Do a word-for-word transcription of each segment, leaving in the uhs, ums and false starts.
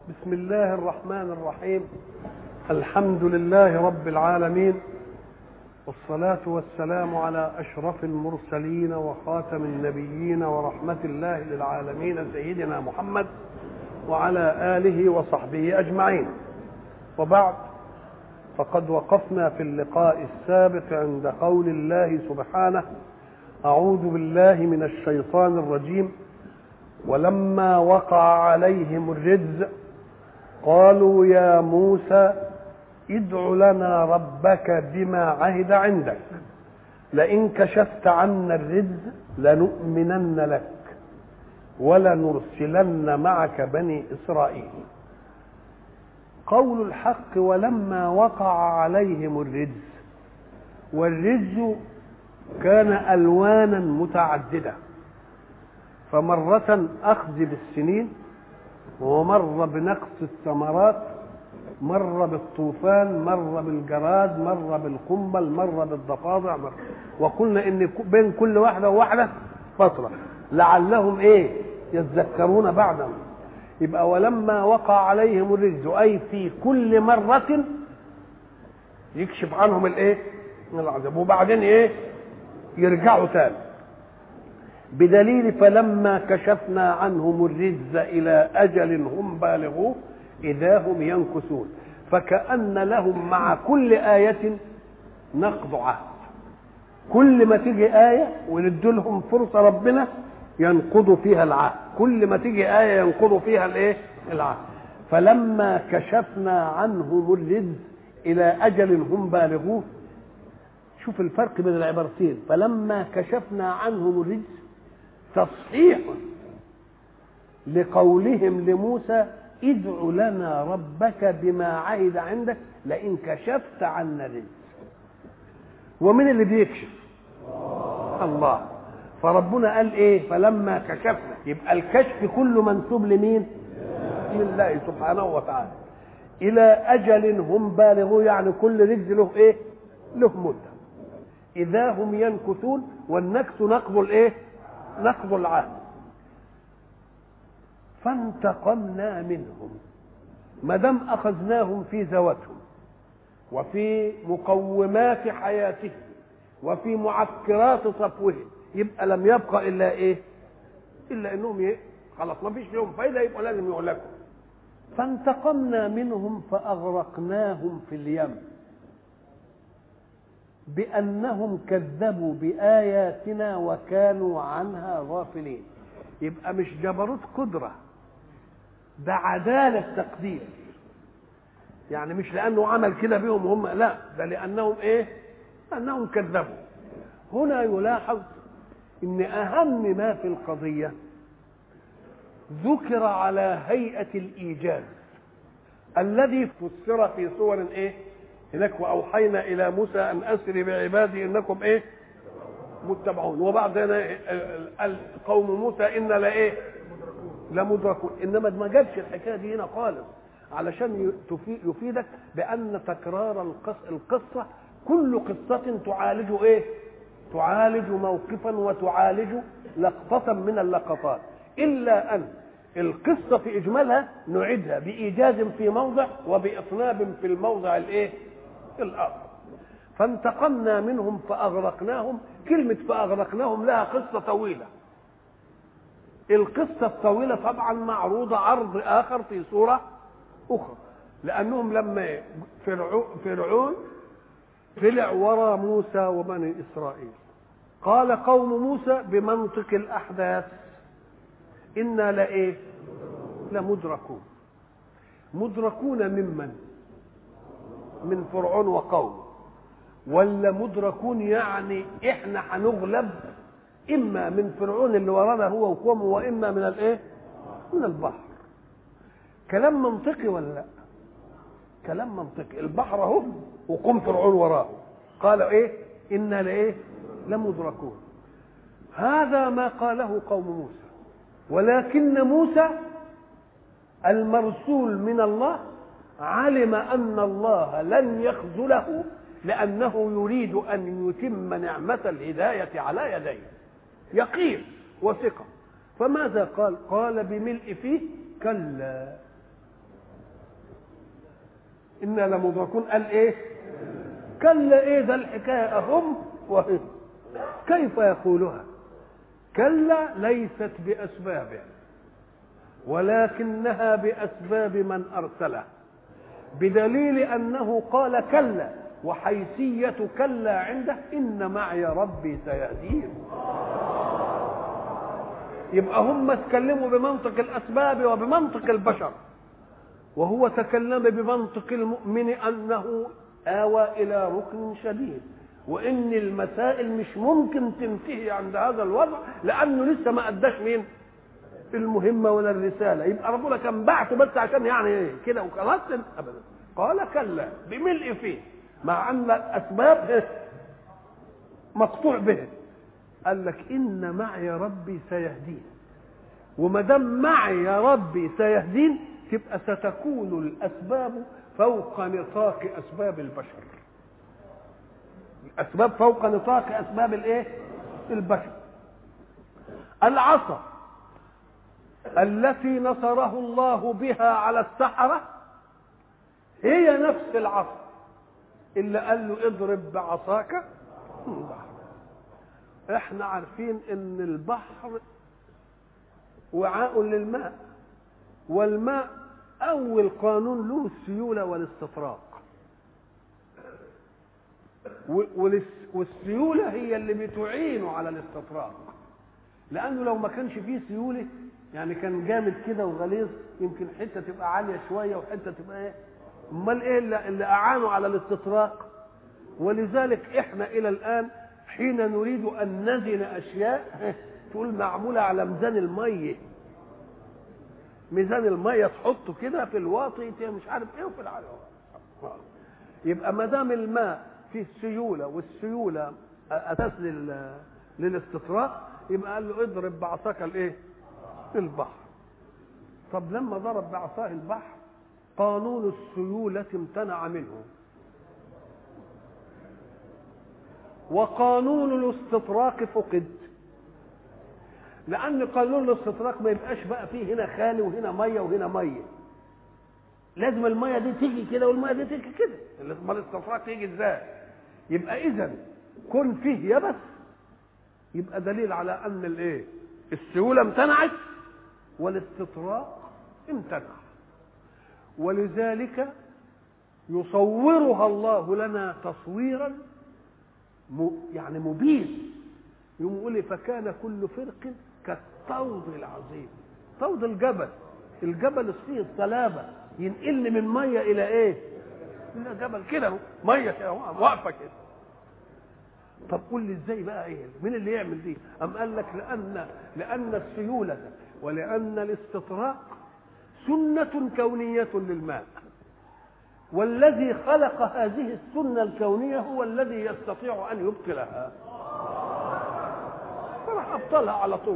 بسم الله الرحمن الرحيم. الحمد لله رب العالمين، والصلاة والسلام على أشرف المرسلين وخاتم النبيين ورحمة الله للعالمين سيدنا محمد وعلى آله وصحبه أجمعين. وبعد، فقد وقفنا في اللقاء السابق عند قول الله سبحانه: أعوذ بالله من الشيطان الرجيم. ولما وقع عليهم الرجز قالوا يا موسى ادع لنا ربك بما عهد عندك لئن كشفت عنا الرجز لنؤمنن لك ولنرسلن معك بني إسرائيل. قول الحق: ولما وقع عليهم الرجز. والرجز كان ألوانا متعددة، فمرة أخذ بالسنين، ومر بنقص الثمرات، مر بالطوفان، مر بالجراد، مر بالقنبل، مر بالضفادع، مر. وقلنا ان بين كل واحده وواحده فتره لعلهم ايه يتذكرون بعدا. يبقى ولما وقع عليهم الرجز، اي في كل مره يكشف عنهم الايه العذاب، وبعدين ايه يرجعوا تاني، بدليل فلما كشفنا عنهم الرجز إلى أجل هم بالغوه إذا هم ينكثون. فكأن لهم مع كل آية نقض عهد، كل ما تيجي آية وندوا لهم فرصة ربنا ينقضوا فيها العهد، كل ما تيجي آية ينقضوا فيها الايه العهد. فلما كشفنا عنهم الرجز إلى أجل هم بالغوه. شوف الفرق بين العبارتين: فلما كشفنا عنهم الرجز تصحيح لقولهم لموسى ادع لنا ربك بما عهد عندك لئن كشفت عنا الرجز. ومن اللي بيكشف؟ الله. فربنا قال ايه؟ فلما كشفنا. يبقى الكشف كله منسوب لمين؟ لله سبحانه وتعالى. الى اجل هم بالغوه، يعني كل رجز له ايه؟ له مده. اذا هم ينكثون، والنكث نقض الايه؟ نقض العهد. فانتقمنا منهم. ما دام اخذناهم في ذواتهم وفي مقومات حياتهم وفي معكرات صفوهم، يبقى لم يبقى الا ايه؟ الا انهم ايه؟ خلاص ما فيش لهم فايده، يبقى لازم يهلكوا. فانتقمنا منهم فاغرقناهم في اليم بأنهم كذبوا بآياتنا وكانوا عنها غافلين. يبقى مش جبروت قدرة، ده عدالة تقدير. يعني مش لأنه عمل كده بهم هم، لا، ده لأنهم إيه؟ أنهم كذبوا. هنا يلاحظ إن أهم ما في القضية ذكر على هيئة الإيجاز الذي فسر في صور إيه؟ هناك وأوحينا إلى موسى أن أسر بعبادي إنكم إيه؟ متبعون. وبعدين قوم موسى إن لا إيه؟ لمدركون. إنما ما جابش الحكاية دي هنا خالص، علشان يفيدك بأن تكرار القصة كل قصة تعالج إيه؟ تعالج موقفا وتعالج لقطة من اللقطات، إلا أن القصة في إجمالها نعيدها بإيجاز في موضع وبإطناب في الموضع الإيه؟ الآخر. فانتقمنا منهم فأغرقناهم. كلمة فأغرقناهم لها قصة طويلة. القصة الطويلة طبعا معروضة عرض آخر في صورة أخرى، لأنهم لما فرعون طلع وراء موسى وبني إسرائيل، قال قوم موسى بمنطق الأحداث إنا لإيه؟ لمدركون. مدركون ممن؟ من فرعون وقومه. ولا مدركون يعني احنا هنغلب اما من فرعون اللي ورانا هو وقومه، واما من الايه؟ من البحر. كلام منطقي ولا لا؟ كلام منطقي. البحر اهو وقوم فرعون وراه، قال ايه؟ انا لايه؟ لمدركون. هذا ما قاله قوم موسى، ولكن موسى المرسول من الله علم أن الله لن يخذله، لأنه يريد أن يتم نعمة الهداية على يديه. يقين وثقة. فماذا قال؟ قال بملء فيه كلا إنا لمدركون قال إيه؟ كلا إيه ده الحكاية أهم وهم كيف يقولها؟ كلا ليست بأسبابه ولكنها بأسباب من أرسله، بدليل أنه قال كلا، وحيثية كلا عنده إن معي ربي سيهدين. يبقى هم اتكلموا بمنطق الأسباب وبمنطق البشر، وهو تكلم بمنطق المؤمن أنه آوى إلى ركن شديد، وإن المسائل مش ممكن تنتهي عند هذا الوضع لأنه لسه ما أداش مين المهمة ولا الرسالة. يبقى ربنا كان بعته بس عشان يعني ايه كده وخلاص أبدا. قال كلا بملء فيه، مع أن الأسباب مقطوع به. قال لك إن معي ربي سيهدين، وما دام معي يا ربي سيهدين تبقى ستكون الأسباب فوق نطاق أسباب البشر. الأسباب فوق نطاق أسباب الإيه؟ البشر. العصا التي نصره الله بها على السحرة هي نفس العصا اللي قال له اضرب بعصاك البحر. احنا عارفين ان البحر وعاء للماء، والماء اول قانون له السيولة والاستطراق، والسيولة هي اللي بتعينه على الاستطراق، لانه لو ما كانش فيه سيولة يعني كان جامد كده وغليظ يمكن حتة تبقى عالية شوية وحتة تبقى ايه، امال ايه اللي, اللي اعانوا على الاستطراق. ولذلك احنا الى الان حين نريد ان نزن اشياء تقول معمولة على ميزان المية، ميزان المية تحطه كده في الواطي مش عارف ايه وفي العالم. يبقى ما دام الماء فيه سيولة والسيولة اساس للاستطراق يبقى قال له اضرب بعصاك الايه البحر. طب لما ضرب بعصاه البحر قانون السيولة امتنع منه، وقانون الاستطراق فقد، لأن قانون الاستطراق ما يبقاش بقى فيه هنا خالي وهنا مية وهنا مية، لازم المية دي تيجي كده والمية دي تيجي كده، الاستطراق يجي ازاي؟ يبقى إذا كن فيه يبس يبقى دليل على أن الايه؟ السيولة امتنعت والاستطراق امتنع. ولذلك يصورها الله لنا تصويرا يعني مبين، يقوم يقول فكان كل فرق كالطود العظيم. طود الجبل، الجبل فيه الصلابه ينقلني من ميه الى ايه؟ الى جبل كده ميه كده واقفه كده. طب قول لي ازاي بقى ايه؟ مين اللي يعمل دي؟ ام قال لك لان لان السيوله ولان الاستطراق سنه كونيه للماء، والذي خلق هذه السنة الكونية هو الذي يستطيع أن يبطلها، فراح أبطلها على طول.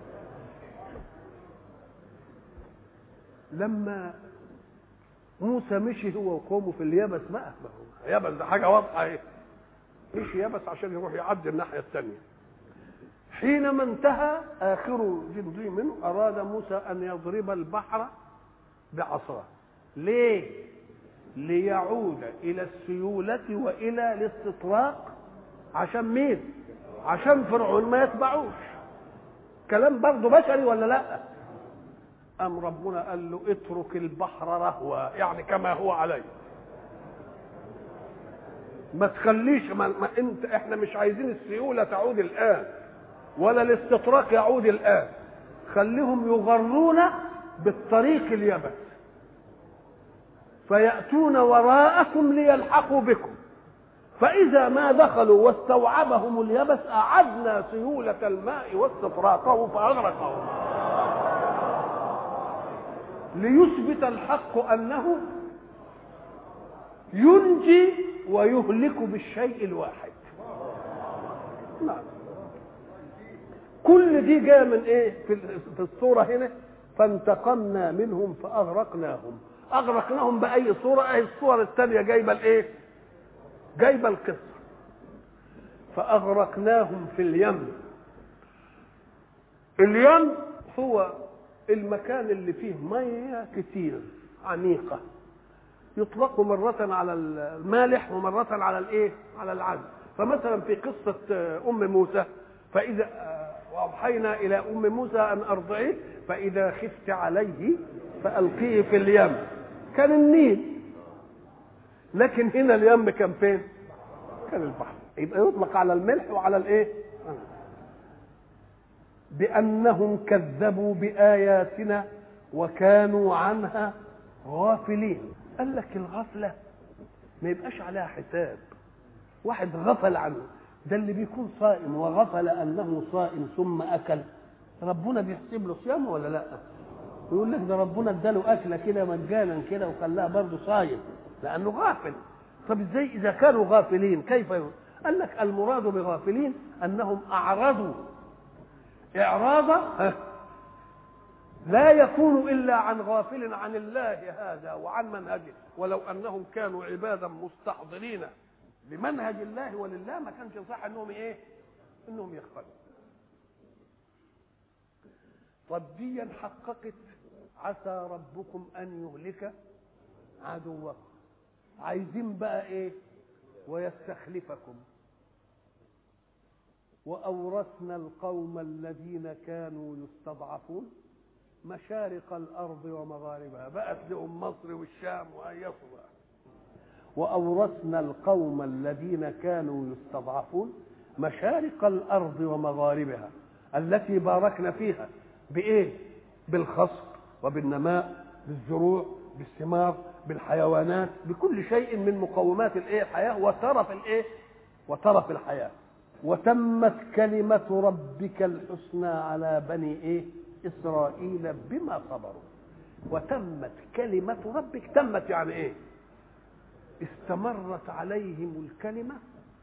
لما موسى مشي هو وقومه في اليبس بقى، يبس ده حاجة واضحة ايه، مشي يبس عشان يروح يعدي الناحية الثانية. حينما انتهى آخر جندي منه أراد موسى أن يضرب البحر بعصاه. ليه؟ ليعود إلى السيولة وإلى الاستطراق. عشان مين؟ عشان فرعون ما يتبعوش. كلام برضه بشري ولا لا؟ أم ربنا قال له اترك البحر رهوا، يعني كما هو عليه، ما تخليش ما, ما انت احنا مش عايزين السيولة تعود الآن ولا الاستطراق يعود الآن، خليهم يغرون بالطريق اليبس فيأتون وراءكم ليلحقوا بكم، فإذا ما دخلوا واستوعبهم اليبس أعدنا سيولة الماء واستطراقه فأغرقهم، ليثبت الحق أنه ينجي ويهلك بالشيء الواحد. نعم. كل دي جاء من ايه في الصورة هنا؟ فانتقمنا منهم فأغرقناهم. أغرقناهم بأي صورة؟ أي الصورة الثانية جايبة الإيه؟ جايبة القصة. فأغرقناهم في اليم. اليم هو المكان اللي فيه مية كتير عميقة، يطلق مرة على المالح ومرة على الايه؟ على العذب. فمثلا في قصة أم موسى فإذا وأوحينا إلى أم موسى أن أرضعيه فإذا خفت عليه فألقيه في اليم، كان النيل، لكن هنا اليم كان فين؟ كان البحر. يبقى يطلق على الملح وعلى الايه؟ بأنهم كذبوا بآياتنا وكانوا عنها غافلين. قال لك الغفلة ما يبقاش عليها حساب، واحد غفل عنه، ده اللي بيكون صائم وغفل أنه صائم ثم أكل، ربنا بيحسب له صيامه ولا لا؟ يقول لك ده ربنا اداله أكلة كده مجانا كده وخلاها برضه صايم لأنه غافل. طب ازاي إذا كانوا غافلين كيف يقول؟ قال لك المراد بغافلين أنهم أعرضوا إعراضا لا يكون إلا عن غافل عن الله هذا وعن منهجه، ولو أنهم كانوا عبادا مستحضرين بمنهج الله ولله ما كانش صح انهم ايه؟ انهم يغفلوا. طب دي حققت عسى ربكم ان يهلك عدوكم، عايزين بقى ايه؟ ويستخلفكم واورثنا القوم الذين كانوا يستضعفون مشارق الارض ومغاربها، بقت لهم مصر والشام وهيصوا بقى. وأورثنا القوم الذين كانوا يستضعفون مشارق الأرض ومغاربها التي باركنا فيها بإيه؟ بالخصب وبالنماء، بالزروع، بالثمار، بالحيوانات، بكل شيء من مقومات الإيه؟ الحياة وترف الإيه؟ وترف الحياة. وتمت كلمة ربك الحسنى على بني إيه؟ إسرائيل بما صبروا. وتمت كلمة ربك، تمت يعني إيه؟ استمرت عليهم الكلمة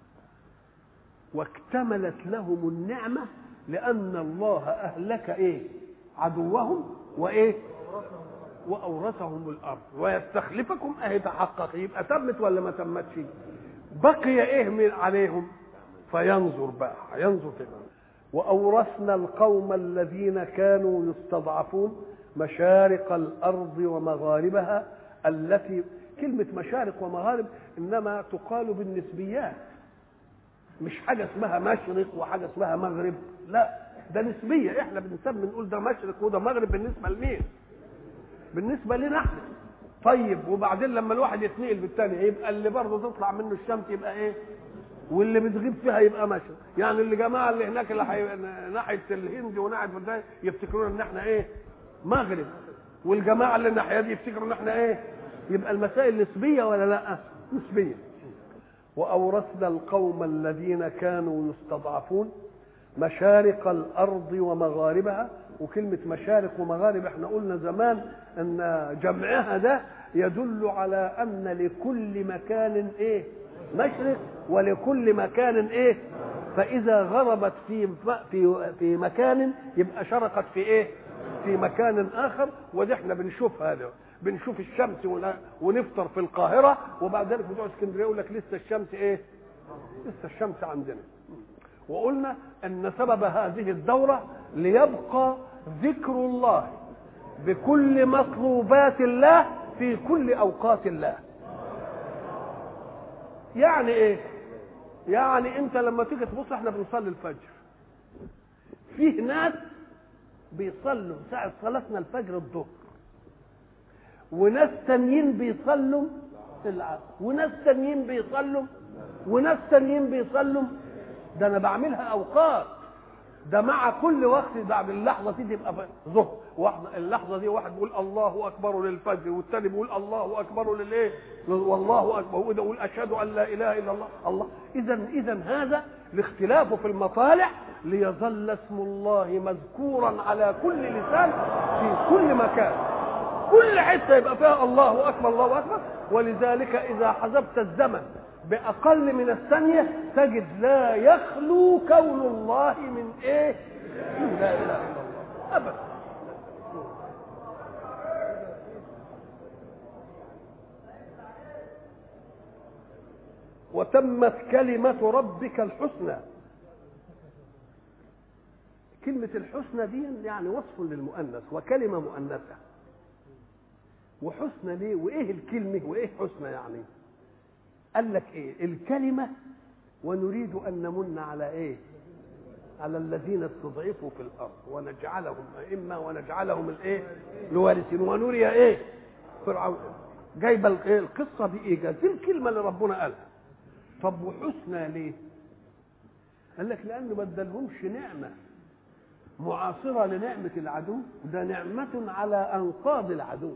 واكتملت لهم النعمة، لأن الله أهلك إيه؟ عدوهم وإيه؟ وأورثهم الأرض ويستخلفكم. أهي تحقق، يبقى تمت ولا ما تمتش؟ بقي إيه من عليهم؟ فينظر بقى، ينظر كده. وأورثنا القوم الذين كانوا يستضعفون مشارق الأرض ومغاربها التي، كلمة مشارق ومغارب إنما تقال بالنسبيات، مش حاجة اسمها مشرق وحاجة اسمها مغرب، لا ده نسبية. احنا بنسمي نقول ده مشرق وده مغرب بالنسبة لمين؟ بالنسبة لنا احنا. طيب وبعدين لما الواحد يتنقل بالتاني يبقى اللي برضه تطلع منه الشمس يبقى ايه؟ واللي بتغيب فيها يبقى مشرق. يعني اللي جماعة اللي هناك اللي حي... ناحية الهند وناحية البلدان يفتكرون ان احنا ايه؟ مغرب، والجماعة اللي الناحية دي يفتكروا ان احنا ايه؟ يبقى المسائل نسبية ولا لا؟ نسبية. وأورثنا القوم الذين كانوا يستضعفون مشارق الأرض ومغاربها. وكلمة مشارق ومغارب احنا قلنا زمان أن جمعها ده يدل على أن لكل مكان إيه؟ مشرق، ولكل مكان إيه؟ فإذا غربت في في في مكان يبقى شرقت في إيه؟ في مكان آخر. وده احنا بنشوف هذا، بنشوف الشمس ونفطر في القاهرة وبعد ذلك بتوع اسكندرية يقول لك لسه الشمس ايه؟ لسه الشمس عندنا. وقلنا ان سبب هذه الدورة ليبقى ذكر الله بكل مطلوبات الله في كل اوقات الله. يعني ايه؟ يعني انت لما تيجي تبص احنا بنصلي الفجر، فيه ناس بيصلوا ساعة صلاتنا الفجر الظهر، وناس تانيين بيصلوا العصر، وناس تانيين بيصلوا، وناس تانيين بيصلوا. ده انا بعملها اوقات، ده مع كل وقت بعد اللحظه دي تبقى ظهر، اللحظه دي واحد بيقول الله اكبر للفجر والتاني بيقول الله اكبر للايه؟ والله اكبر، وده يقول اشهد ان لا اله الا الله. الله اذا اذا هذا الاختلاف في المطالع ليظل اسم الله مذكورا على كل لسان في كل مكان، كل حته يبقى فيها الله اكبر الله اكبر. ولذلك اذا حسبت الزمن باقل من الثانيه تجد لا يخلو كون الله من ايه؟ من لا اله الا الله ابدا. وتمت كلمة ربك الحسنى. كلمة الحسنى دي يعني وصف للمؤنث وكلمة مؤنثة، وحسنى ليه؟ وايه الكلمه وايه حسنى يعني؟ قال لك ايه الكلمه؟ ونريد ان نمن على ايه؟ على الذين استضعفوا في الارض ونجعلهم ائمه ونجعلهم الايه؟ الوارثين ونري ايه؟ فرعون. جايبه الايه؟ القصه بايجاز، دي الكلمه اللي ربنا قالها. طب وحسنى ليه؟ قال لك لانه ما ادالهمش نعمه معاصره لنعمه العدو، ده نعمه على انقاض العدو.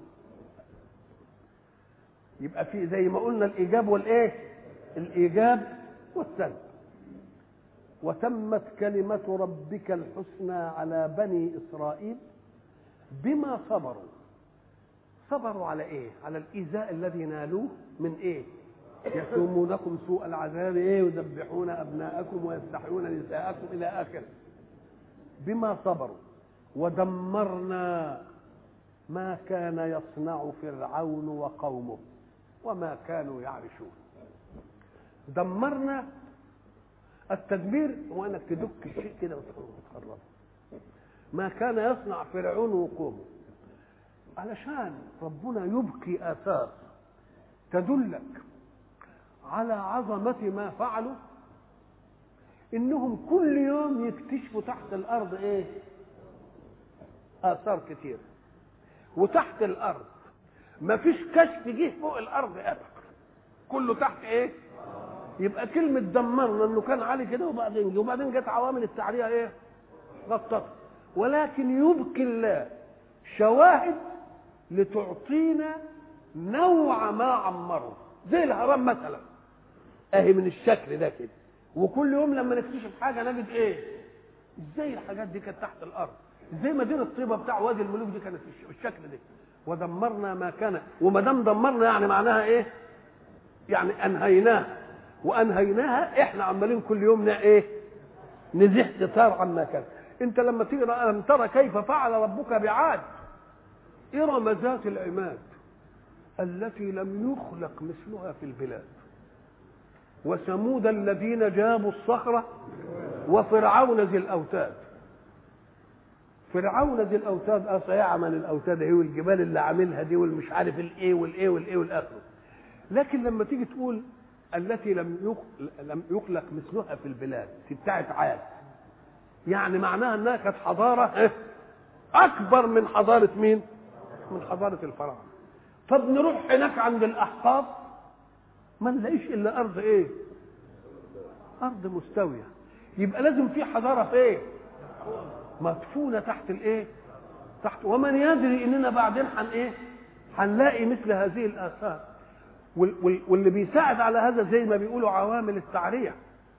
يبقى في زي ما قلنا الايجاب والايه؟ الايجاب والسلب. وتمت كلمه ربك الحسنى على بني اسرائيل بما صبروا. صبروا على ايه؟ على الايذاء الذي نالوه من ايه؟ يسومونكم سوء العذاب ايه؟ يذبحون ابناءكم ويستحيون نساءكم الى اخره. بما صبروا ودمرنا ما كان يصنع فرعون وقومه وما كانوا يعرشون. دمرنا التدمير هو انك تدك الشيء كده وتخربه. ما كان يصنع فرعون وقومه، علشان ربنا يبقي آثار تدلك على عظمة ما فعلوا. انهم كل يوم يكتشفوا تحت الارض ايه؟ آثار كتير. وتحت الارض ما فيش كشف جه فوق الارض ابدا، كله تحت ايه؟ يبقى كلمة دمرنا انه كان عالي كده وبعدين جه وبعدين جت عوامل التعرية ايه؟ غطت. ولكن يبقي الله شواهد لتعطينا نوع ما عمروا، زي الهرم مثلا اهي من الشكل ده كده. وكل يوم لما نكتشف حاجه نجد ايه؟ ازاي الحاجات دي كانت تحت الارض؟ ازاي مدينه طيبه بتاع وادي الملوك دي كانت بالشكل ده؟ ودمرنا ما كان. وما دام دمرنا يعني معناها ايه؟ يعني انهيناها. وانهيناها احنا عمالين كل يوم ايه؟ نزيح ستار عما كان. انت لما تيجي لم ترى كيف فعل ربك بعاد إرم ذات العماد التي لم يخلق مثلها في البلاد، وثمود الذين جابوا الصخرة، وفرعون ذي الأوتاد. فرعون ذي الأوتاد اه سيعمل الأوتاد هي والجبال اللي عاملها دي والمش عارف الايه والايه والايه والاخر. لكن لما تيجي تقول التي لم لم يخلق مثلها في البلاد في بتاعت عاد، يعني معناها انها كانت حضاره اكبر من حضاره مين؟ من حضاره الفراعنه. طب نروح هناك عند الاحقاف ما نلاقيش الا ارض ايه؟ ارض مستويه. يبقى لازم في حضاره في ايه؟ مدفونه تحت الايه؟ تحت. ومن يدري اننا بعدين حن ايه؟ هنلاقي مثل هذه الاثار. واللي بيساعد على هذا زي ما بيقولوا عوامل التعريه.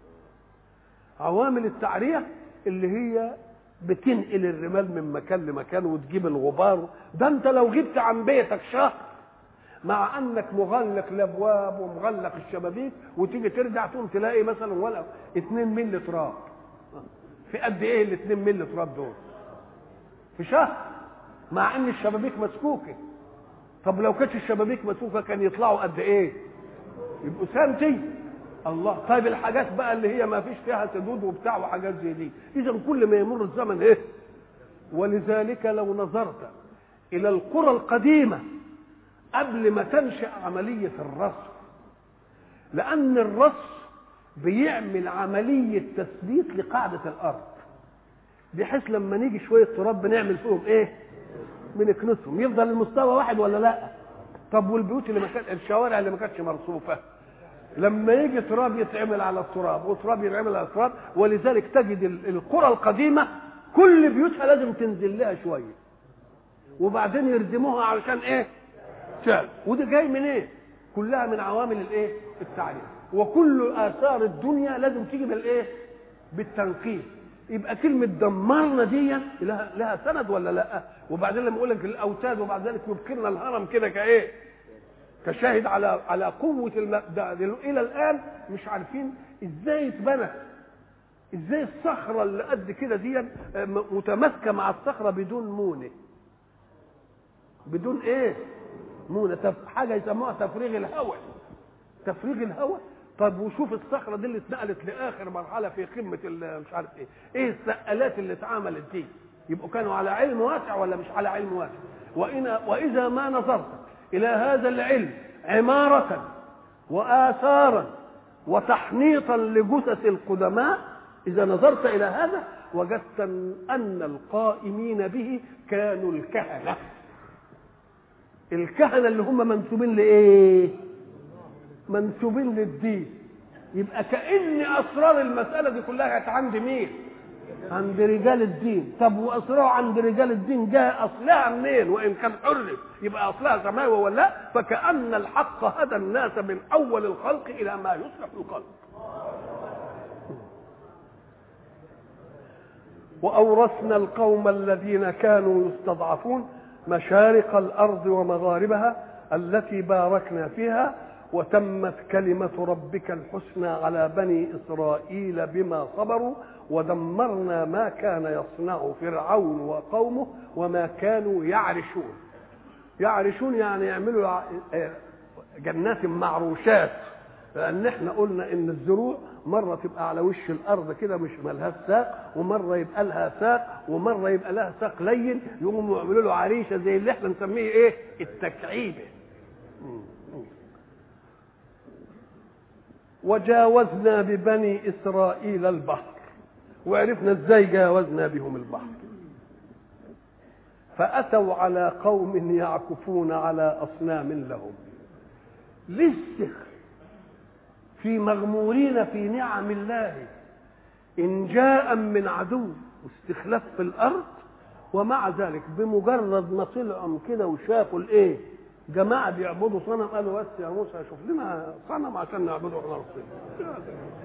عوامل التعريه اللي هي بتنقل الرمال من مكان لمكان وتجيب الغبار. ده انت لو جبت عن بيتك شهر مع انك مغلق الابواب ومغلق الشبابيك وتيجي ترجع تقوم تلاقي مثلا ولا اتنين ملي تراب. في قد ايه الاتنين ملي تراب دول؟ في شهر، مع ان الشبابيك مسكوكه. طب لو كانت الشبابيك مسكوكه كان يطلعوا قد ايه؟ يبقوا سنتي. الله. طيب الحاجات بقى اللي هي ما فيش فيها سدود وبتاع وحاجات زي دي، اذا كل ما يمر الزمن ايه؟ ولذلك لو نظرت الى القرى القديمه قبل ما تنشأ عمليه الرصف، لان الرصف بيعمل عمليه تثبيت لقاعده الارض، بحيث لما نيجي شويه تراب بنعمل فيهم ايه؟ بنكنسهم. يفضل المستوى واحد ولا لا؟ طب والبيوت اللي ما كانت، الشوارع اللي ما كانتش مرصوفه، لما يجي تراب يتعمل على التراب وتراب يتعمل على التراب. ولذلك تجد القرى القديمه كل بيوتها لازم تنزل لها شويه وبعدين يردموها علشان ايه؟ شال. وده جاي من ايه؟ كلها من عوامل الايه؟ التعريف. وكل اثار الدنيا لازم تيجي بالايه؟ بالتنقيب. يبقى كلمه دمرنا دي لها لها سند ولا لا؟ وبعدين لما يقول لك الاوتاد وبعد ذلك يبكرنا الهرم كده كايه؟ كشاهد على على قوه المبدا. الى الان مش عارفين ازاي اتبنى، ازاي الصخره اللي قد كده دي متماسكه مع الصخره بدون مونه، بدون ايه؟ مونه. تف... حاجه يسموها تفريغ الهواء. تفريغ الهواء. طب وشوف الصخره دي اللي اتنقلت لاخر مرحله في قمه مش عارف ايه، ايه السقالات اللي اتعملت دي؟ يبقوا كانوا على علم واسع ولا مش على علم واسع؟ وإن واذا ما نظرت إلى هذا العلم عمارة وآثارا وتحنيطا لجثث القدماء، إذا نظرت إلى هذا وجدت أن القائمين به كانوا الكهنة. الكهنة اللي هم منسوبين لإيه؟ منسوبين للدين. يبقى كأن أسرار المسألة دي كلها كانت عند مين؟ عند رجال الدين. طب وأسرار عند رجال الدين جاء أصلها منين؟ وإن كان حرف يبقى أصلها سماوي ولا لا؟ فكأن الحق هدى الناس من أول الخلق إلى ما يصلح الخلق. وأورثنا القوم الذين كانوا يستضعفون مشارق الأرض ومغاربها التي باركنا فيها وتمت كلمة ربك الحسنى على بني إسرائيل بما صبروا ودمرنا ما كان يصنع فرعون وقومه وما كانوا يعرشون. يعرشون يعني يعملوا جنات معروشات، لأن احنا قلنا إن الزروع مرة تبقى على وش الأرض كده مش مالهاش ساق، ومرة يبقى لها ساق، ومرة يبقى لها ساق لين، يقوموا يعملوا له عريشة زي اللي احنا نسميه إيه؟ التكعيبة. وجاوزنا ببني إسرائيل البحر، وعرفنا ازاي جاوزنا بهم البحر. فأتوا على قوم يعكفون على أصنام لهم. لسه في مغمورين في نعم الله إن جاء من عدو واستخلاف في الأرض، ومع ذلك بمجرد ما طلعوا كده وشافوا الايه؟ جماعة بيعبدوا صنم، قالوا بس يا موسى شوف لنا صنم عشان نعبده احنا ربنا.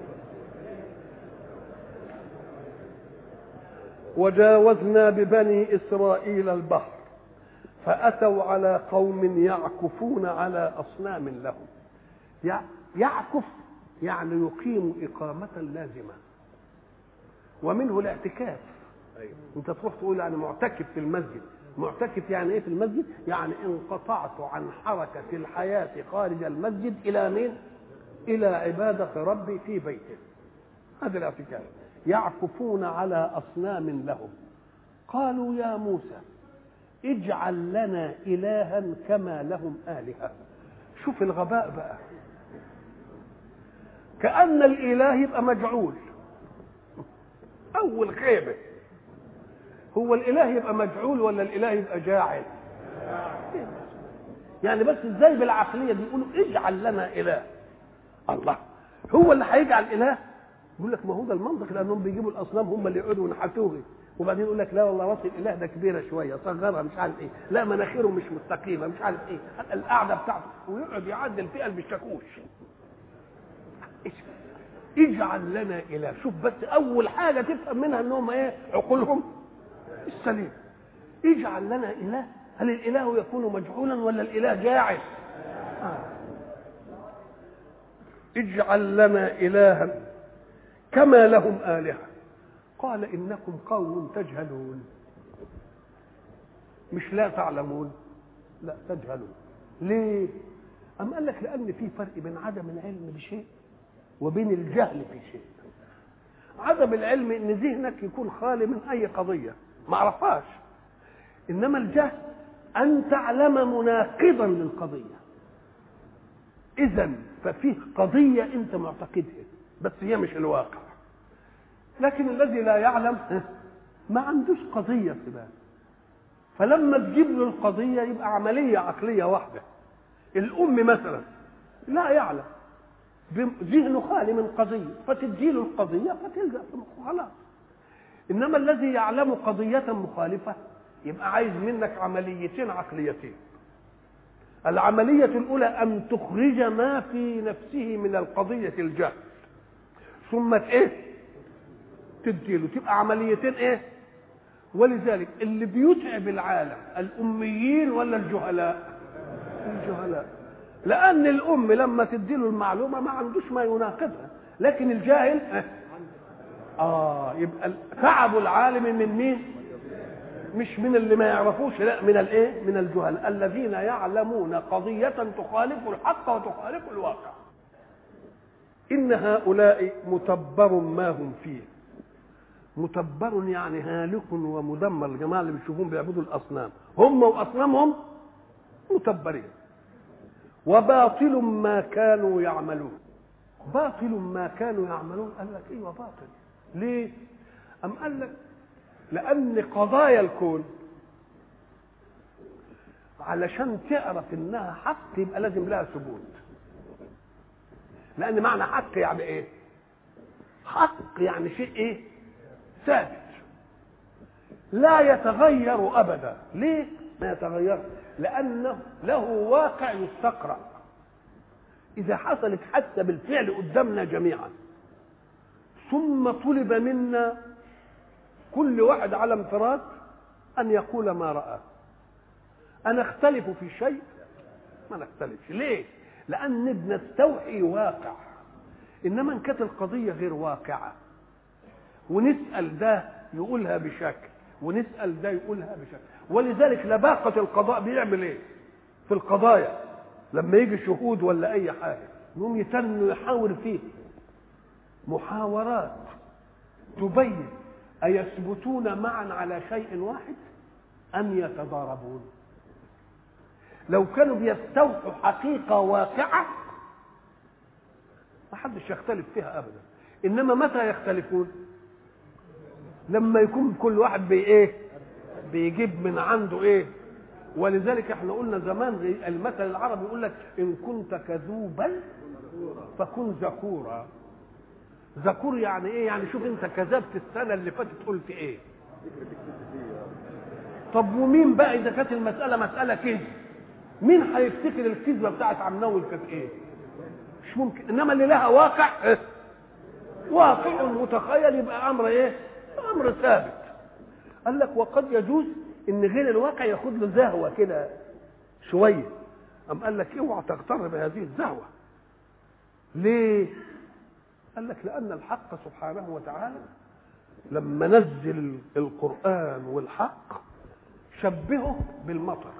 وجاوزنا ببني إسرائيل البحر فأتوا على قوم يعكفون على أصنام لهم. يعكف يعني يقيم إقامة لازمة، ومنه الاعتكاف. انت تروح تقول يعني معتكف في المسجد. معتكف يعني ايه في المسجد؟ يعني انقطعت عن حركة الحياة خارج المسجد إلى مين؟ إلى عبادة ربي في بيته. هذا الاعتكاف. يعكفون على أصنام لهم. قالوا يا موسى اجعل لنا إلها كما لهم آلهة. شوف الغباء بقى، كأن الإله يبقى مجعول. أول خيبة، هو الإله يبقى مجعول ولا الإله يبقى جاعل؟ يعني بس ازاي بالعقلية دي يقولوا اجعل لنا إله؟ الله هو اللي هيجعل إله؟ يقول لك ما هو ده المنطق، لأنهم بيجيبوا الأصنام هم اللي يقعدوا ونحتوه، وبعدين يقول لك لا والله راس الإله ده كبيرة شوية صغرها مش عارف إيه، لا مناخيره مش مستقيمة مش عارف إيه، القعدة بتاعته، ويقعد يعدل فيها بالشاكوش. اجعل لنا إله. شوف بس أول حاجة تفهم منها إنهم إيه؟ عقولهم السليم. اجعل لنا إله. هل الإله يكون مجعولا ولا الإله جاعل؟ آه. اجعل لنا إلها كما لهم آلهة. قال إنكم قوم تجهلون. مش لا تعلمون، لا تجهلون. ليه؟ أم قال لك لأن في فرق بين عدم العلم بشيء وبين الجهل في شيء. عدم العلم ان ذهنك يكون خالي من اي قضيه ما عرفهاش، انما الجهل ان تعلم مناقضا للقضيه. اذا ففيه قضيه انت معتقدها بس هي مش الواقع. لكن الذي لا يعلم ما عندوش قضيه في باله، فلما تجيب له القضيه يبقى عمليه عقليه واحده. الام مثلا لا يعلم، ذهنه خالي من قضيه، فتديله القضيه فتلزق في مخه خلاص. انما الذي يعلم قضيه مخالفه يبقى عايز منك عمليتين عقليتين. العمليه الاولى ان تخرج ما في نفسه من القضيه الجهل، ثم ايه؟ تديله. تبقى عمليتين ايه؟ ولذلك اللي بيتعب العالم الاميين ولا الجهلاء؟ الجهلاء. لأن الأم لما تديله المعلومة ما عندوش ما يناقضها، لكن الجاهل آه يبقى تعب العالم من مين؟ مش من اللي ما يعرفوش، لا من الإيه؟ من الجهل الذين يعلمون قضية تخالف الحق وتخالف الواقع. إن هؤلاء متبر ما هم فيه. متبر يعني هالك ومدمر. الجماعة اللي بتشوفون بيعبدوا الأصنام هم وأصنامهم متبرين. وباطل ما كانوا يعملون. باطل ما كانوا يعملون، قال لك ايوه باطل. ليه؟ أم قال لك لأن قضايا الكون علشان تعرف انها حق يبقى لازم لها ثبوت. لأن معنى حق يعني ايه؟ حق يعني شيء ايه؟ ثابت لا يتغير أبدا. ليه ما يتغير؟ لأنه له واقع يستقرأ. إذا حصلت حتى بالفعل قدامنا جميعا ثم طلب منا كل واحد على انفراد أن يقول ما رأى، أنا أختلف في شيء ما نختلفش. ليه؟ لأن بنستوحي واقع. إنما إن كانت القضية غير واقعة ونسأل ده يقولها بشكل ونسأل ده يقولها بشكل، ولذلك لباقة القضاء بيعمل إيه في القضايا؟ لما يجي شهود ولا أي حاجة يقوم يتنوا يحاور فيه محاورات تبين أيثبتون معا على شيء واحد أم يتضاربون. لو كانوا بيستوحوا حقيقة واقعة ما حدش يختلف فيها أبدا. إنما متى يختلفون؟ لما يكون كل واحد بي إيه بيجيب من عنده إيه. ولذلك احنا قلنا زمان المثل العربي يقول لك إن كنت كذوبا فكن ذكورا. ذكور يعني ايه؟ يعني شوف انت كذبت السنه اللي فاتت قلت ايه. طب ومين بقى اذا كانت المساله مساله كذب مين هيفتكر الكذبه بتاعت عمناول كانت ايه؟ مش ممكن. انما اللي لها واقع إيه؟ واقع متخيل يبقى امر ايه؟ امر ثابت. قال لك وقد يجوز ان غير الواقع ياخد له زهوه كده شويه. ام قال لك اوعى تغتر بهذه الزهوه. ليه؟ قال لك لأن الحق سبحانه وتعالى لما نزل القرآن والحق شبهه بالمطر.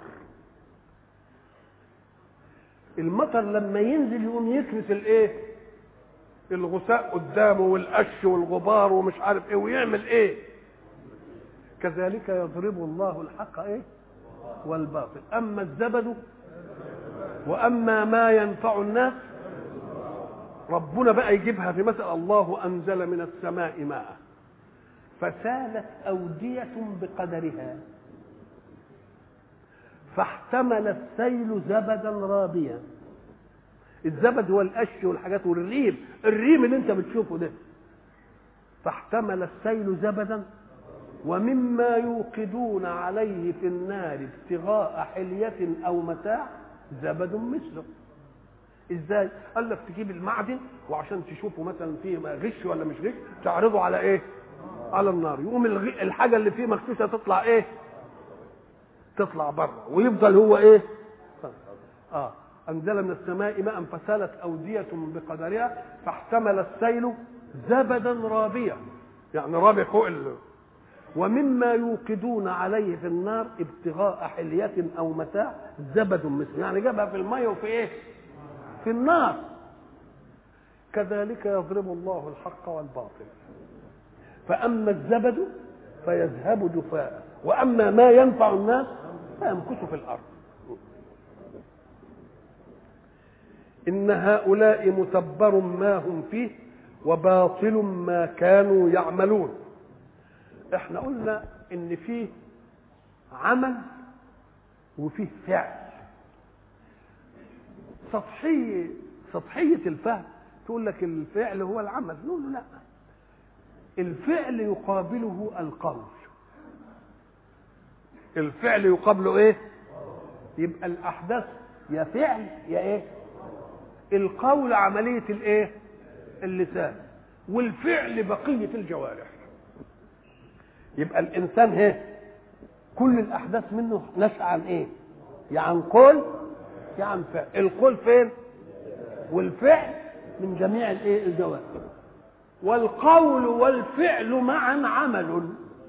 المطر لما ينزل يقوم يكنس الايه؟ الغثاء قدامه والقش والغبار ومش عارف ايه ويعمل ايه. كذلك يضرب الله الحق ايه؟ والباطل. اما الزبد واما ما ينفع الناس ربنا بقى يجيبها في مثل الله أنزل من السماء ماء فسالت أودية بقدرها فاحتمل السيل زبدا رابيا. الزبد هو القش والحاجات والريم، الريم اللي انت بتشوفه ده. فاحتمل السيل زبدا ومما يوقدون عليه في النار ابتغاء حلية أو متاع زبد مثله. ازاي؟ قال لك تجيب المعدن وعشان تشوفه مثلا فيه غش ولا مش غش تعرضه على ايه؟ على النار. يقوم الحاجه اللي فيه مغشوشه تطلع ايه؟ تطلع بره ويفضل هو ايه؟ اه انزل من السماء ماء فسالت اوديه بقدرها فاحتمل السيل زبدا رابيا يعني رابي فوق ال... ومما يوقدون عليه في النار ابتغاء حلية او متاع زبد مثله يعني جابها في الميه وفي ايه؟ في النار. كذلك يضرب الله الحق والباطل فأما الزبد فيذهب جفاء وأما ما ينفع الناس فيمكث في الأرض. إن هؤلاء متبر ما هم فيه وباطل ما كانوا يعملون. احنا قلنا إن فيه عمل وفيه فعل. سطحية سطحية الفهم تقول لك الفعل هو العمل، نقول له لا، الفعل يقابله القول. الفعل يقابله ايه؟ يبقى الأحداث يا فعل يا ايه؟ القول عملية الايه؟ اللسان، والفعل بقية الجوارح. يبقى الإنسان ايه؟ كل الأحداث منه نشأ عن ايه؟ يا عن قول يا عن فعل. القول فين؟ والفعل من جميع الايه؟ الجوارح. والقول والفعل معا عمل.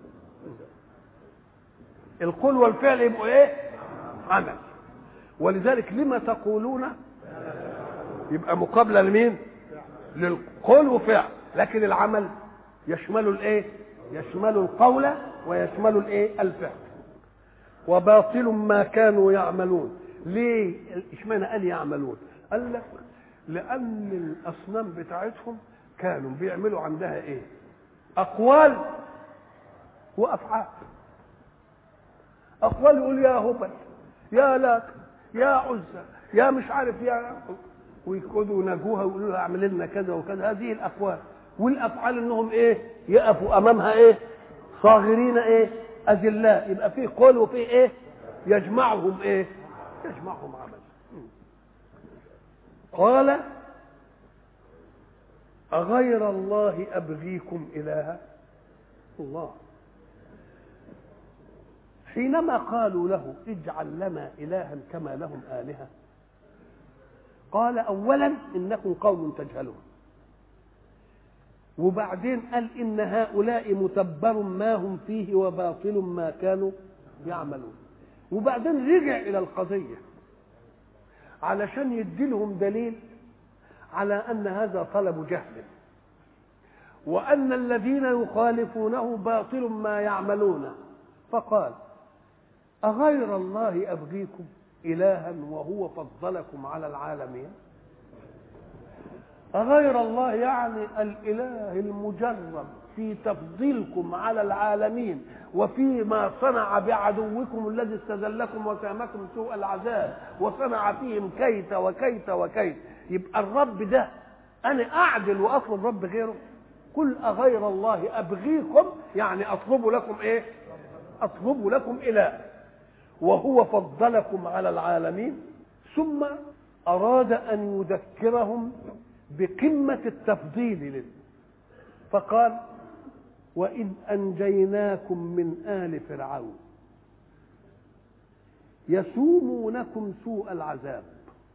القول والفعل يبقوا ايه؟ عمل. ولذلك لما تقولون يبقى مقابله لمين؟ للقول وفعل. لكن العمل يشمل الايه؟ يشمل القول ويشمل الايه؟ الفعل. وباطل ما كانوا يعملون. ليه اشمعنى قال يعملون؟ قال لك لان الاصنام بتاعتهم كانوا بيعملوا عندها ايه؟ اقوال وافعال. اقوال يقول يا هبل، يا لات، يا عزى، يا مش عارف يا، ويقعدوا يناجوها ويقولوا لها اعمل لنا كذا وكذا. هذه الاقوال. والافعال انهم ايه؟ يقفوا امامها ايه؟ صاغرين ايه؟ اذلاء. يبقى فيه قول وفيه ايه؟ يجمعهم ايه؟ يجمعهم عمل. قال أغير الله أبغيكم إلها؟ الله حينما قالوا له اجعل لنا إلها كما لهم آلهة، قال أولا إنكم قوم تجهلون، وبعدين قال إن هؤلاء متبر ما هم فيه وباطل ما كانوا يعملون. وبعدين رجع إلى القضية علشان يديلهم دليل على أن هذا طلب جهل، وأن الذين يخالفونه باطل ما يعملون. فقال أغير الله أبغيكم إلها وهو فضلكم على العالمين؟ أغير الله يعني الإله المجرب في تفضيلكم على العالمين وفيما صنع بعدوكم الذي استذلكم وسامكم سوء العذاب وصنع فيهم كيت وكيت وكيت. يبقى الرب ده أنا أعدل وأطلب رب غيره؟ قل أغير الله أبغيكم يعني أطلب لكم إيه؟ أطلب لكم إله وهو فضلكم على العالمين. ثم أراد أن يذكرهم بقمة التفضيل له، فقال وإذ أنجيناكم من آل فرعون يسومونكم سوء العذاب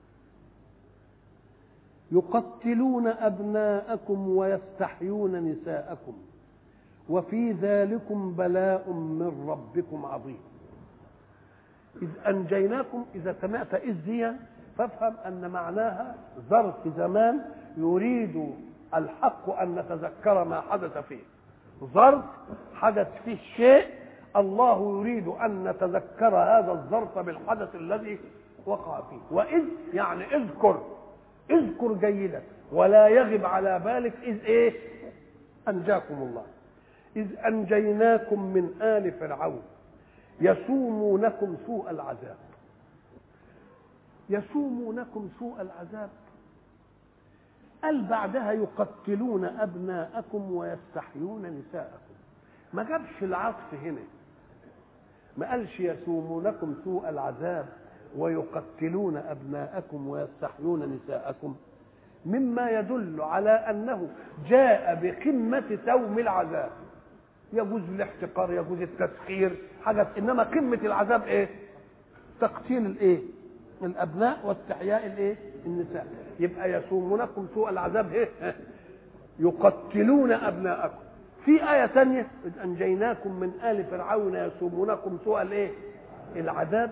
يقتلون أبناءكم ويستحيون نساءكم وفي ذلكم بلاء من ربكم عظيم. إذ أنجيناكم، إذا سمعت إذ دي فافهم أن معناها ظرف زمان يريد الحق أن نتذكر ما حدث فيه. ظرف حدث فيه شيء، الله يريد أن نتذكر هذا الظرف بالحدث الذي وقع فيه. وإذ يعني اذكر، اذكر جيدا ولا يغب على بالك إذ إيه؟ أنجاكم الله. إذ أنجيناكم من آل فرعون يسومونكم سوء العذاب. يسومونكم سوء العذاب قال بعدها يقتلون أبناءكم ويستحيون نساءكم. ما جابش العطف هنا، ما قالش يسومونكم سوء العذاب ويقتلون أبناءكم ويستحيون نساءكم، مما يدل على أنه جاء بقمة سوم العذاب. يجوز الاحتقار، يجوز التسخير، حاجة، إنما قمة العذاب إيه؟ تقتيل الإيه؟ الأبناء واستحياء الإيه؟ النساء. يبقى يسومونكم سوء العذاب إيه؟ يقتلون أبناءكم. في آية ثانية إذ أنجيناكم من آل فرعون يسومونكم سوء الإيه؟ العذاب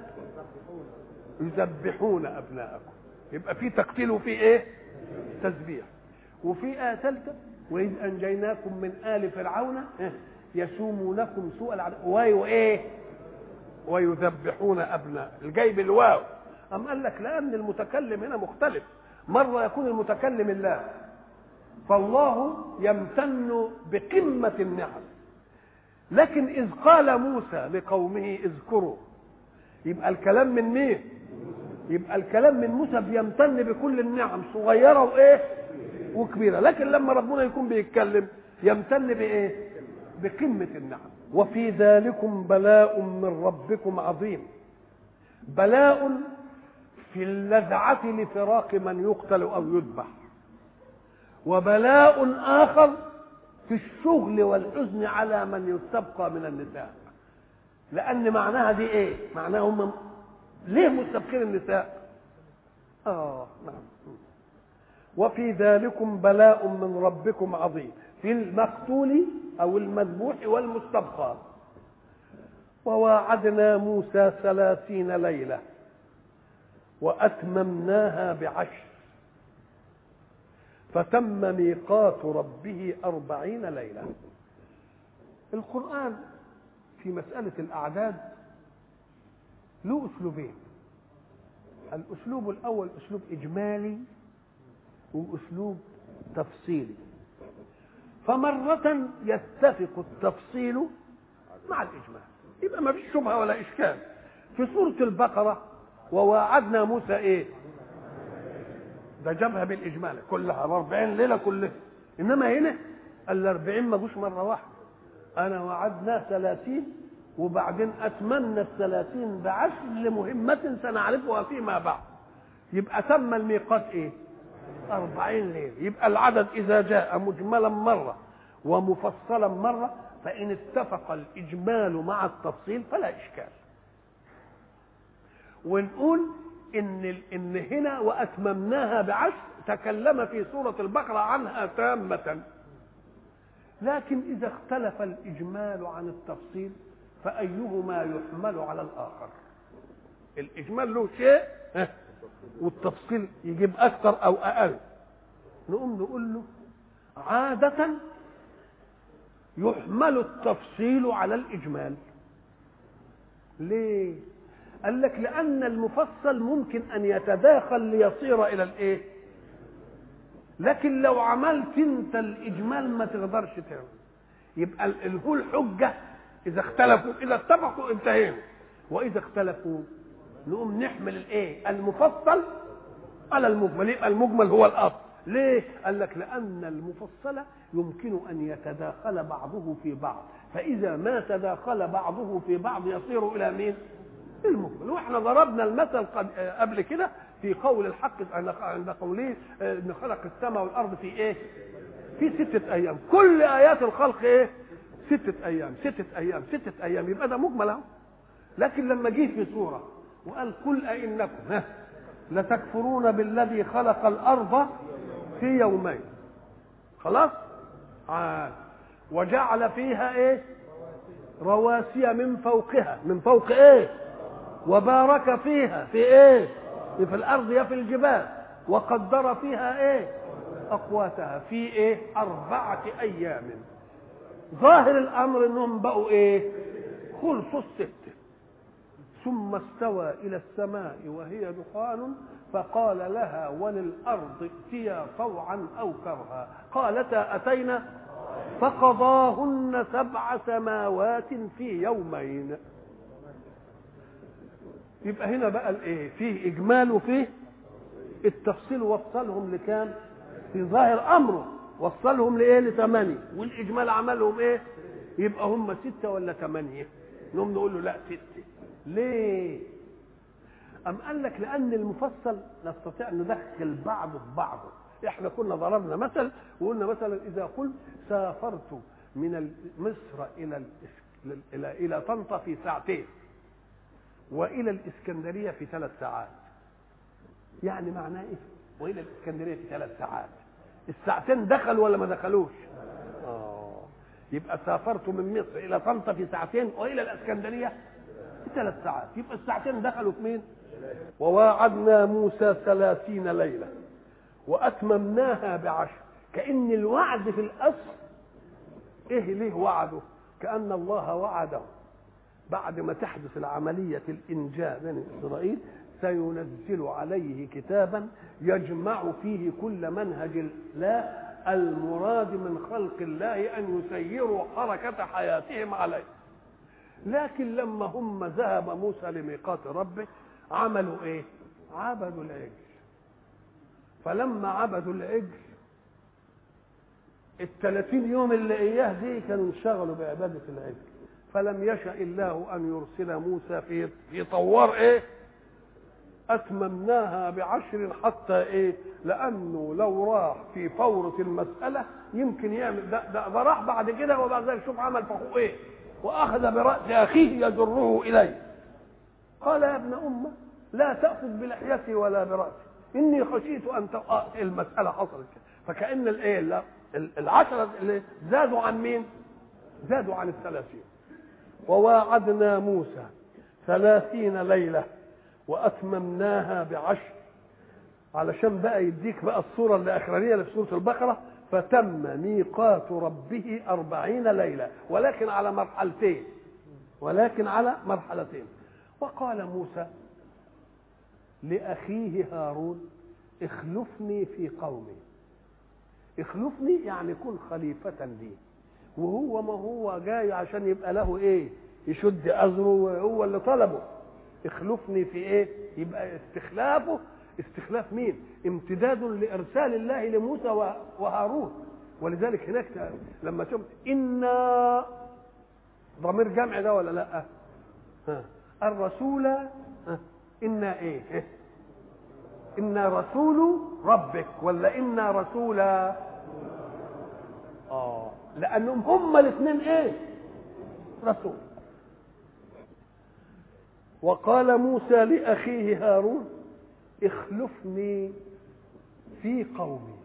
يذبحون أبناءكم. يبقى في تقتيل وفي إيه؟ تذبيح. وفي آية ثالثة وإذ أنجيناكم من آل فرعون يسومونكم سوء العذاب وإيه؟ ويذبحون أبناء. الجايب الواو. أم قال لك لأن المتكلم هنا مختلف، مرة يكون المتكلم الله، فالله يمتن بقمة النعم، لكن إذ قال موسى لقومه اذكروا، يبقى الكلام من مين؟ يبقى الكلام من موسى بيمتن بكل النعم صغيرة وإيه؟ وكبيرة. لكن لما ربنا يكون بيتكلم يمتن بإيه؟ بقمة النعم. وفي ذلكم بلاء من ربكم عظيم. بلاء في اللذعة لفراق من يقتل أو يذبح، وبلاء آخر في الشغل والحزن على من يستبقى من النساء. لأن معناها دي إيه؟ معناها هم ليه مستبقين النساء؟ آه نعم. وفي ذلكم بلاء من ربكم عظيم، في المقتول أو المذبوح والمستبقى. وواعدنا موسى ثلاثين ليلة وأتممناها بعشر فتم ميقات ربه أربعين ليلة. القرآن في مسألة الأعداد له أسلوبين. الأسلوب الأول أسلوب إجمالي وأسلوب تفصيلي. فمرة يتفق التفصيل مع الإجمال، يبقى ما فيش شبهة ولا إشكال. في سورة البقرة وواعدنا موسى إيه؟ ده جابها بالإجمال كلها أربعين ليلة كلها. إنما هنا الأربعين ما جوش مرة واحدة. أنا وعدنا ثلاثين وبعدين أتمنى الثلاثين بعشر لمهمة سنعرفها فيما بعد. يبقى تم الميقات إيه؟ أربعين ليلة. يبقى العدد إذا جاء مجملا مرة ومفصلا مرة فإن اتفق الإجمال مع التفصيل فلا إشكال. ونقول إن إن هنا وأتممناها بعشر تكلم في سورة البقرة عنها تامة. لكن إذا اختلف الإجمال عن التفصيل فأيهما يحمل على الآخر؟ الإجمال له شيء والتفصيل يجيب أكثر أو أقل. نقوم نقول له عادة يحمل التفصيل على الإجمال. ليه؟ قال لك لأن المفصل ممكن أن يتداخل ليصير إلى الإيه؟ لكن لو عملت أنت الإجمال ما تقدرش تعمل. يبقى هو الحجة إذا اختلفوا، إذا اتفقوا انتهينا، وإذا اختلفوا نقوم نحمل الإيه؟ المفصل على المجمل. يبقى المجمل هو الأصل. ليه؟ قال لك لأن المفصل يمكن أن يتداخل بعضه في بعض، فإذا ما تداخل بعضه في بعض يصير إلى مين؟ المجمل. واحنا ضربنا المثل قبل كده في قول الحق عند قوله ان خلق السماء والارض في ايه؟ في ستة ايام. كل ايات الخلق ايه؟ ستة ايام ستة ايام ستة ايام. يبقى ده مجمل اهو. لكن لما جه في سورة وقال قل أئنكم لتكفرون بالذي خلق الارض في يومين، خلاص؟ عاد وجعل فيها ايه؟ رواسي من فوقها، من فوق ايه؟ وبارك فيها في ايه؟ في الارض يا في الجبال، وقدر فيها ايه؟ اقواتها في ايه؟ اربعه ايام. ظاهر الامر انهم بقوا ايه؟ خلصوا السته. ثم استوى الى السماء وهي دخان فقال لها وللارض ائتيا طوعا او كرها قالتا اتينا فقضاهن سبع سماوات في يومين. يبقى هنا بقى الايه؟ فيه اجمال وفيه التفصيل. وصلهم لكام؟ في ظاهر امره وصلهم لايه؟ لثمانيه. والاجمال عملهم ايه؟ يبقى هم سته ولا ثمانيه؟ نقوم نقول له لا سته. ليه؟ ام قال لك لان المفصل نستطيع ان ندخل بعضه في بعضه. احنا كنا ضربنا مثل وقلنا مثلا اذا قلت سافرت من مصر الى الى الى طنطا في ساعتين والى الاسكندريه في ثلاث ساعات، يعني معناه ايه؟ والى الاسكندريه في ثلاث ساعات. الساعتين دخلوا ولا ما دخلوش؟ اه يبقى سافرت من مصر الى طنطا في ساعتين والى الاسكندريه في ثلاث ساعات. يبقى الساعتين دخلوا في مين؟ وواعدنا موسى ثلاثين ليله واتممناها بعشر. كأن الوعد في الاصل ايه؟ ليه وعده؟ كأن الله وعده بعد ما تحدث العملية الإنجاء بين إسرائيل سينزل عليه كتابا يجمع فيه كل منهج الله المراد من خلق الله أن يسيروا حركة حياتهم عليه. لكن لما هم ذهب موسى لميقات ربه عملوا ايه؟ عبدوا العجل. فلما عبدوا العجل الثلاثين يوم اللي اياه دي كانوا انشغلوا بعبادة العجل. فلم يشأ الله ان يرسل موسى في في طوار ايه؟ اتممناها بعشر حتى ايه؟ لانه لو راح في فورة المسألة يمكن يعمل ده, ده, ده راح بعد كده وبعد ذلك شوف عمل فخو ايه؟ واخذ برأس اخيه يجره اليه. قال يا ابن امه لا تأخذ بلحيتي ولا برأسي اني خشيت ان تقع المسألة حصلت كده. فكأن الايه العشرة اللي زادوا عن مين؟ زادوا عن الثلاثين. وواعدنا موسى ثلاثين ليلة وأتممناها بعشر، علشان بقى يديك بقى الصورة الأخرانية اللي في سورة البقرة. فتم ميقات ربه أربعين ليلة ولكن على مرحلتين ولكن على مرحلتين. وقال موسى لأخيه هارون اخلفني في قومي. اخلفني يعني كن خليفة لي، وهو ما هو جاي عشان يبقى له ايه؟ يشد أزره، هو اللي طلبه. اخلفني في ايه؟ يبقى استخلافه استخلاف مين؟ امتداد لإرسال الله لموسى وهارون. ولذلك هناك لما تم إنا ضمير جمع ده ولا لا؟ ها. الرسول ها. إنا إيه؟ إنا رسول ربك ولا إنا رسول؟ آه لأنهم هما الاثنين إيه؟ رسول. وقال موسى لأخيه هارون اخلفني في قومي.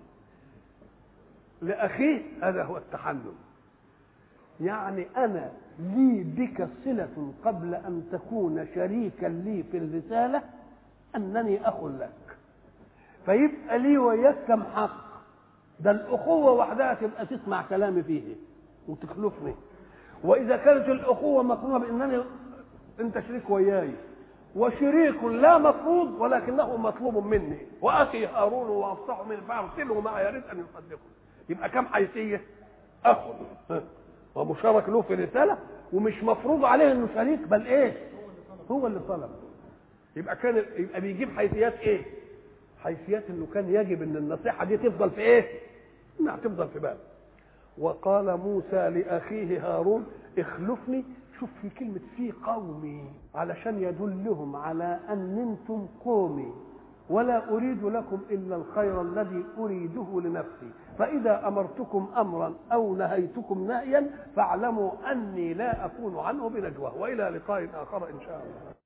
لأخيه هذا هو التحنن، يعني أنا لي بك صلة قبل أن تكون شريكا لي في الرسالة، أنني أخ لك، فيبقى لي وياك كم حق. ده الأخوة وحدها تبقى تسمع كلامي فيه وتخلفني. وإذا كانت الأخوة مقرونة بأنني أنت شريك وياي، وشريك لا مفروض ولكنه مطلوب مني، وأخي هارون وأفصح من فأرسله معي يريد أن يصدقه، يبقى كم حيثية؟ أخ ومشارك له في رسالة، ومش مفروض عليه انه شريك، بل ايه؟ هو اللي طلب. يبقى كان يبقى بيجيب حيثيات ايه؟ حيثيات انه كان يجب ان النصيحة دي تفضل في ايه؟ انها تفضل في باله. وقال موسى لأخيه هارون اخلفني. شوف في كلمة في قومي علشان يدلهم على ان انتم قومي ولا أريد لكم إلا الخير الذي أريده لنفسي، فإذا أمرتكم أمرا أو نهيتكم نهيا فاعلموا أني لا أكون عنه بنجوى. وإلى لقاء آخر إن شاء الله.